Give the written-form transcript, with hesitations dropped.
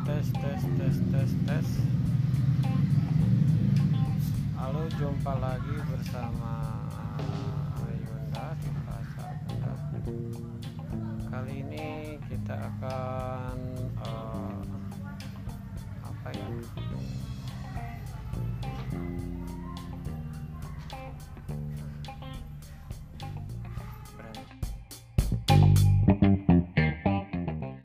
tes. Halo, jumpa lagi bersama Ayunda di Pasar Kendal. Kali ini kita akan